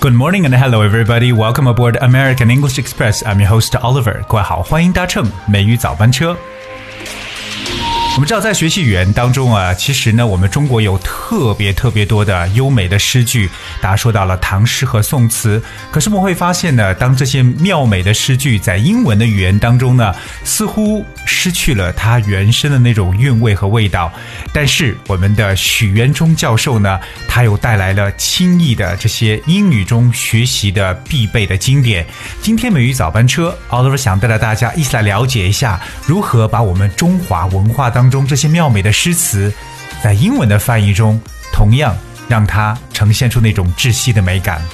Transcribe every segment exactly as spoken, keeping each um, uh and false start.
Good morning and hello everybody. Welcome aboard American English Express. I'm your host Oliver. 各位好，欢迎搭乘美语早班车。我们知道在学习语言当中啊，其实呢我们中国有特别特别多的优美的诗句，大家说到了唐诗和宋词，可是我们会发现呢，当这些妙美的诗句在英文的语言当中呢，似乎失去了它原生的那种韵味和味道。但是我们的许渊冲教授呢，他又带来了轻易的这些英语中学习的必备的经典。今天美语早班车 Oliver 想带着大家一起来了解一下，如何把我们中华文化当中这些妙美的诗词在英文的翻译中同样让它呈现出那种窒息的美感。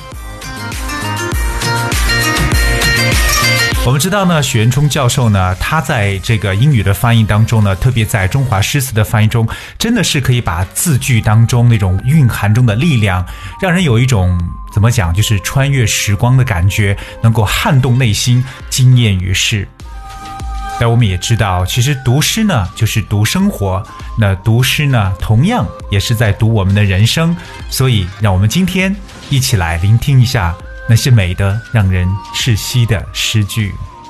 我们知道呢，许渊冲教授呢，他在这个英语的翻译当中呢，特别在中华诗词的翻译中，真的是可以把字句当中那种蕴含中的力量，让人有一种怎么讲，就是穿越时光的感觉，能够撼动内心，惊艳于世。但我们也知道，其实读诗呢就是读生活，那读诗呢同样也是在读我们的人生，所以让我们今天一起来聆听一下那些美的让人窒息的诗句。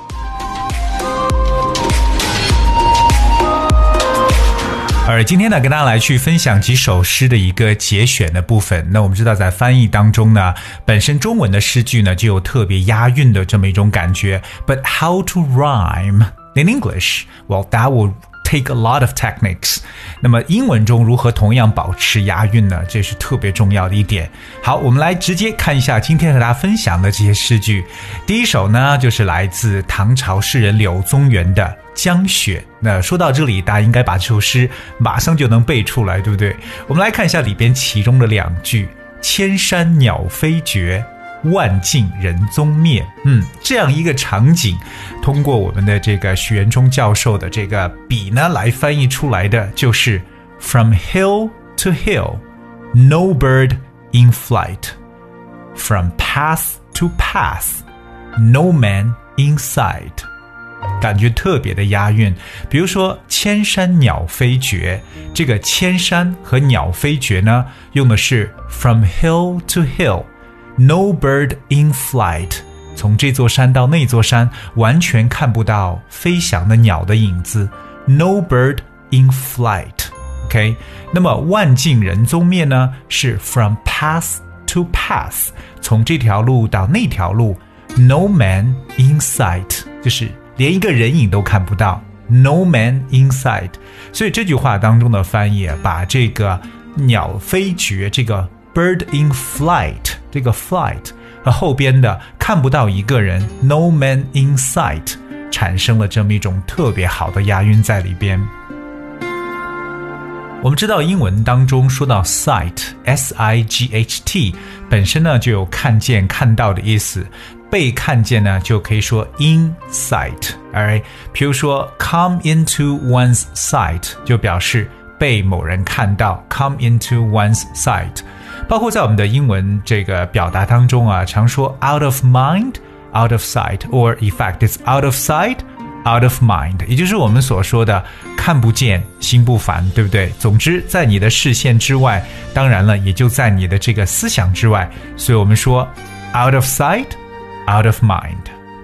而今天呢，跟大家来去分享几首诗的一个节选的部分。那我们知道在翻译当中呢，本身中文的诗句呢就有特别押韵的这么一种感觉， But how to rhyme in English? Well, that will take a lot of techniques. 那么英文中如何同样保持押韵呢？这是特别重要的一点。好，我们来直接看一下今天和大家分享的这些诗句。第一首呢，就是来自唐朝诗人柳宗元的《江雪》。那说到这里，大家应该把这首诗马上就能背出来，对不对？我们来看一下里边其中的两句：千山鸟飞绝，万径人踪灭。嗯，这样一个场景，通过我们的这个许渊冲教授的这个笔呢，来翻译出来的就是 From hill to hill, no bird in flight. From path to path, no man in sight. 感觉特别的押韵。比如说千山鸟飞绝，这个千山和鸟飞绝呢，用的是 From hill to hill.No bird in flight. 从这座山到那座山，完全看不到飞翔的鸟的影子。No bird in flight. OK. 那么万径人踪灭呢，是 from path to path. 从这条路到那条路。No man in sight. 就是连一个人影都看不到。No man in sight. 所以这句话当中的翻译，把这个鸟飞绝，这个bird in flight, 这个 flight 和后边的看不到一个人 no man in sight 产生了这么一种特别好的押韵在里边。我们知道英文当中说到 sight, S I G H T 本身呢就有看见看到的意思，被看见呢就可以说 in sight. Alright? 比如说 come into one's sight 就表示被某人看到 come into one's sight。包括在我们的英文这个表达当中啊，常说 out of mind, out of sight, or in fact it's out of sight, out of mind， 也就是我们所说的看不见心不烦，对不对？总之在你的视线之外，当然了也就在你的这个思想之外，所以我们说 out of sight, out of mind。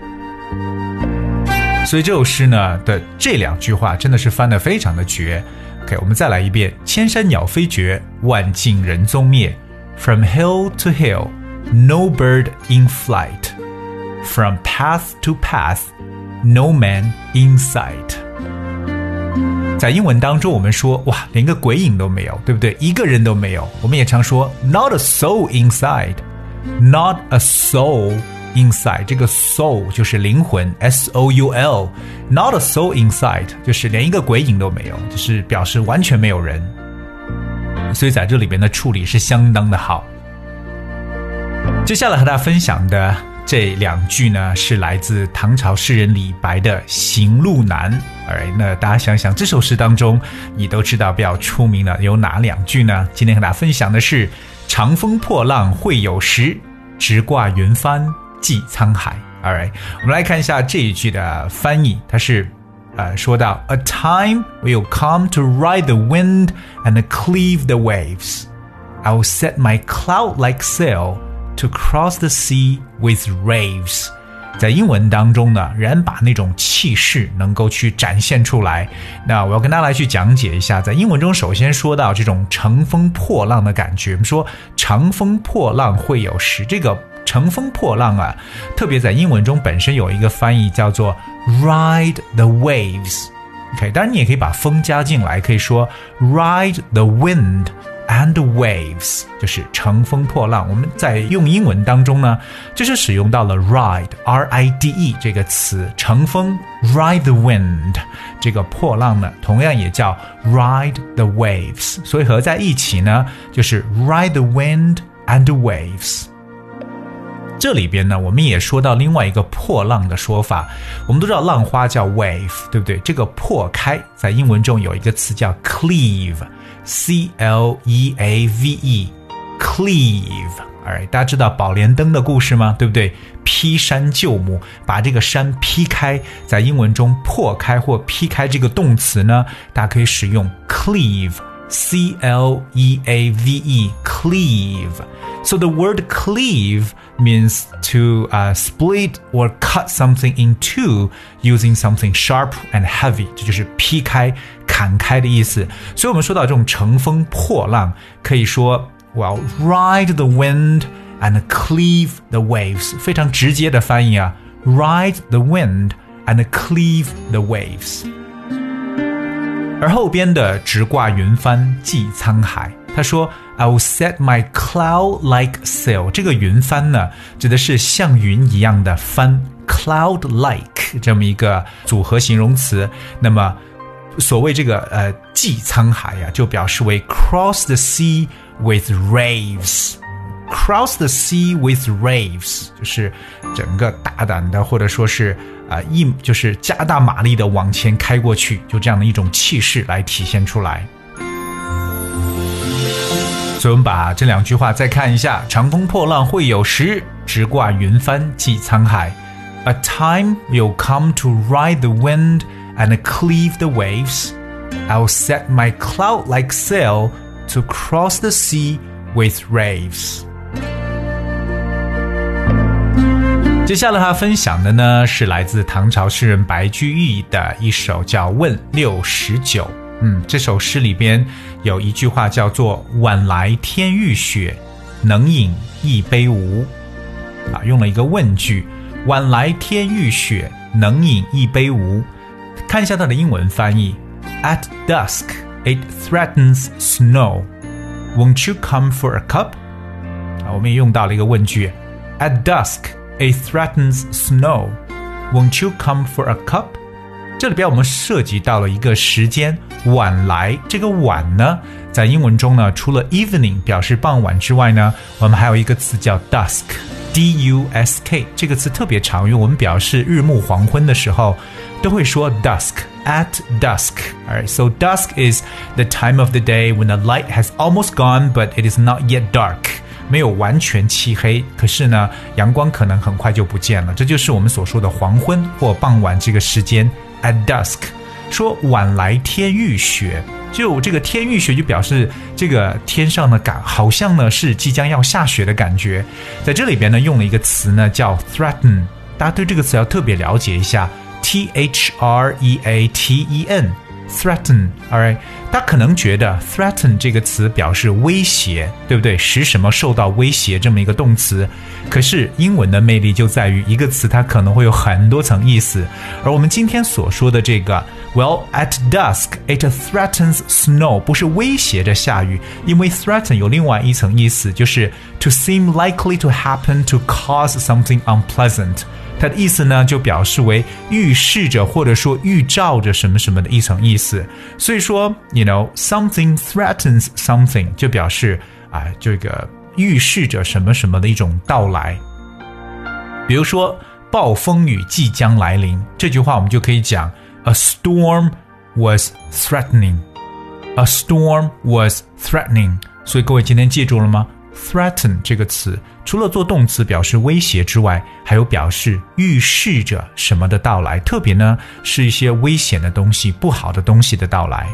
所以这首诗呢的这两句话真的是翻得非常的绝。 OK， 我们再来一遍：千山鸟飞绝，万径人踪灭。From hill to hill, no bird in flight. From path to path, no man in sight. 在英文当中我们说哇，连个鬼影都没有，对不对？一个人都没有。我们也常说 not a soul inside, not a soul inside. 这个 soul 就是灵魂 S O U L, not a soul inside 就是连一个鬼影都没有，就是表示完全没有人。所以在这里边的处理是相当的好。接下来和大家分享的这两句呢，是来自唐朝诗人李白的《行路难》。Alright， 那大家想想这首诗当中，你都知道比较出名的有哪两句呢？今天和大家分享的是长风破浪会有时，直挂云帆济沧海。Alright， 我们来看一下这一句的翻译，它是呃，说到 A time will come to ride the wind and cleave the waves. I will set my cloud-like sail to cross the sea with waves。在英文当中呢，人把那种气势能够去展现出来。那我要跟大家来去讲解一下，在英文中首先说到这种乘风破浪的感觉。我们说乘风破浪会有时，这个乘风破浪啊，特别在英文中本身有一个翻译叫做 ride the waves。OK， 当然你也可以把风加进来，可以说 ride the wind and waves， 就是乘风破浪。我们在用英文当中呢，就是使用到了 ride R I D E 这个词，乘风 ride the wind， 这个破浪呢同样也叫 ride the waves， 所以合在一起呢就是 ride the wind and waves。这里边呢我们也说到另外一个破浪的说法，我们都知道浪花叫 wave， 对不对？这个破开在英文中有一个词叫 cleave， C L E A V E cleave。 Alright， 大家知道宝莲灯的故事吗？对不对？劈山救母，把这个山劈开，在英文中破开或劈开这个动词呢，大家可以使用 cleave， C L E A V E cleave。So the word cleave means to uh, split or cut something in two using something sharp and heavy， 这就是劈开砍开的意思。所以我们说到这种乘风破浪，可以说 well ride the wind and cleave the waves， 非常直接的翻译啊， ride the wind and cleave the waves。 而后边的直挂云帆济沧海，他说 I will set my cloud like sail， 这个云帆呢指的是像云一样的帆， cloud like 这么一个组合形容词。那么所谓这个呃济沧海呀、啊，就表示为 cross the sea with waves， cross the sea with waves 就是整个大胆的或者说是啊、呃、一就是加大马力的往前开过去，就这样的一种气势来体现出来。所以我们把这两句话再看一下，乘风破浪会有时，直挂云帆济沧海。 A time will come to ride the wind and cleave the waves. I'll set my cloud-like sail to cross the sea with waves. 接下来他分享的呢是来自唐朝诗人白居易的一首叫《问六十九》。嗯，这首诗里边有一句话叫做晚来天欲雪，能饮一杯无。啊，用了一个问句，晚来天欲雪，能饮一杯无。看一下它的英文翻译 At dusk it threatens snow. Won't you come for a cup? 啊，我们也用到了一个问句 At dusk it threatens snow. Won't you come for a cup?这里边我们涉及到了一个时间晚来，这个晚呢在英文中呢除了 evening 表示傍晚之外呢，我们还有一个词叫 dusk D U S K， 这个词特别常用，我们表示日暮黄昏的时候都会说 dusk at dusk. Alright, so dusk is the time of the day when the light has almost gone but it is not yet dark，没有完全漆黑，可是呢阳光可能很快就不见了，这就是我们所说的黄昏或傍晚这个时间 at dusk。 说晚来天欲雪，就这个天欲雪就表示这个天上的感好像呢是即将要下雪的感觉。在这里边呢用了一个词呢叫 threaten， 大家对这个词要特别了解一下， T H R E A T E N threaten。 alright， 大家可能觉得 threaten 这个词表示威胁，对不对？使什么受到威胁这么一个动词。可是英文的魅力就在于一个词它可能会有很多层意思，而我们今天所说的这个 well at dusk it threatens snow 不是威胁着下雨，因为 threaten 有另外一层意思，就是 to seem likely to happen to cause something unpleasant，它的意思呢就表示为预示着或者说预兆着什么什么的一层意思。所以说 you know something threatens something 就表示啊这个预示着什么什么的一种到来。比如说暴风雨即将来临，这句话我们就可以讲 A storm was threatening. A storm was threatening. 所以各位今天记住了吗？threaten 这个词除了做动词表示威胁之外，还有表示预示着什么的到来，特别呢是一些危险的东西，不好的东西的到来。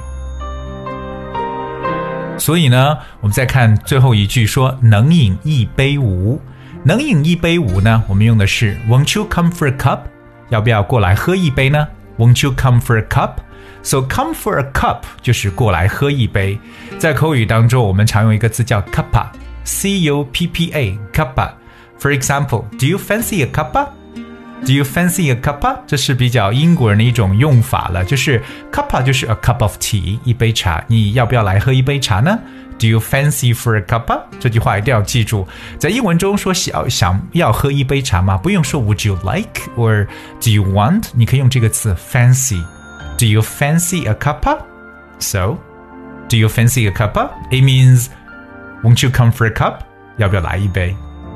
所以呢我们再看最后一句，说能饮一杯无。 能饮一杯无呢，我们用的是 Won't you come for a cup？ 要不要过来喝一杯呢？ Won't you come for a cup？ So come for a cup 就是过来喝一杯。在口语当中，我们常用一个字叫 cuppa， C U P P A cuppa。 For example, do you fancy a cuppa？Do you fancy a cuppa？ 这是比较英国人的一种用法了，就是 cuppa 就是 a cup of tea， 一杯茶，你要不要来喝一杯茶呢？ Do you fancy for a cuppa？ 这句话一定要记住，在英文中说想想要喝一杯茶吗？不用说 would you like or do you want， 你可以用这个词 fancy。 Do you fancy a cuppa？ So, do you fancy a cuppa? It means won't you come for a cup？ 要不要来一杯？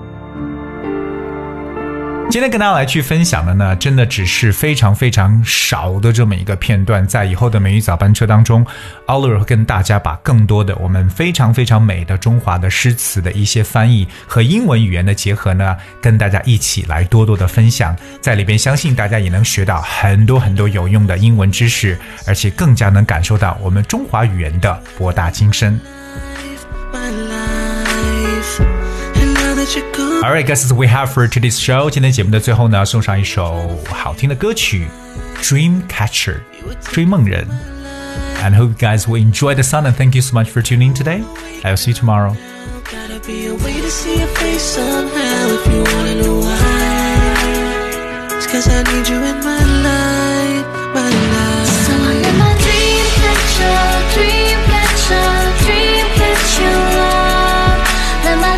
今天跟大家来去分享的呢，真的只是非常非常少的这么一个片段，在以后的美语早班车当中 Oliver 会跟大家把更多的我们非常非常美的中华的诗词的一些翻译和英文语言的结合呢，跟大家一起来多多的分享，在里边相信大家也能学到很多很多有用的英文知识，而且更加能感受到我们中华语言的博大精深。Alright, guys, as we have for today's show. 今天节目的最后呢，送上一首好听的歌曲 Dreamcatcher 追梦人 And hope you guys will enjoy the song. And thank you so much for tuning in today. I'll see you tomorrow. Gotta be a way to see your face somehow if you wanna know why. It's cause I need you in my life, my life. So I'm in my dreamcatcher, dreamcatcher, dreamcatcher love. Let my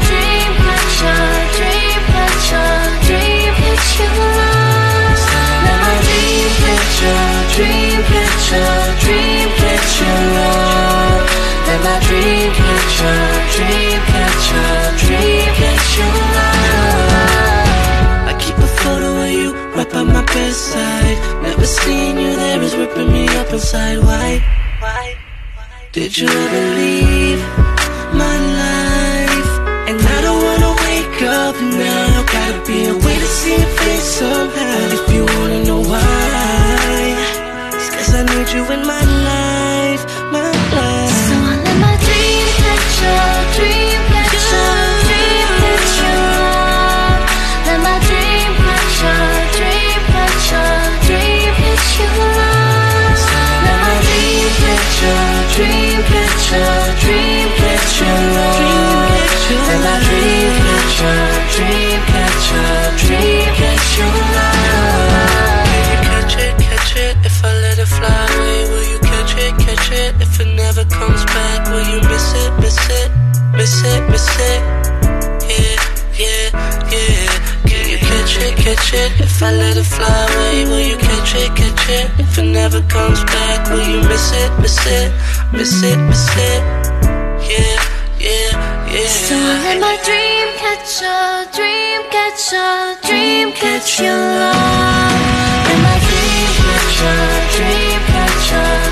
dreamcatcher.Dreamcatcher, dreamcatcher love. Let my dreamcatcher, dreamcatcher, dreamcatcher love. I keep a photo of you right by my bedside. Never seeing you there is ripping me up inside. Why? Why? Did you ever leave my life? And I don't wanna wake up now. Gotta be a way to see your face somehow. If you wanna know why.I need you in my life, my life. So I let my dreamcatcher, dreamcatcher, dreamcatcher love. Let my dreamcatcher, dreamcatcher, dreamcatcher love. Let my dreamcatcher, dreamcatcher, dreamcatcher love. Let my dreamcatcher, dreamcatcher, dreamcatcher love.Catch it, catch it, if I let it fly away. Will you catch it, catch it, if it never comes back? Will you miss it, miss it, miss it, miss it? Yeah, yeah, yeah. Can you catch it, catch it, if I let it fly away? Will you catch it, catch it, if it never comes back? Will you miss it, miss it, miss it, miss it? Yeah, yeah, yeah. So I let my dreamcatcher, dreamcatcher, dreamcatcher love.Dreamcatcher, dreamcatcher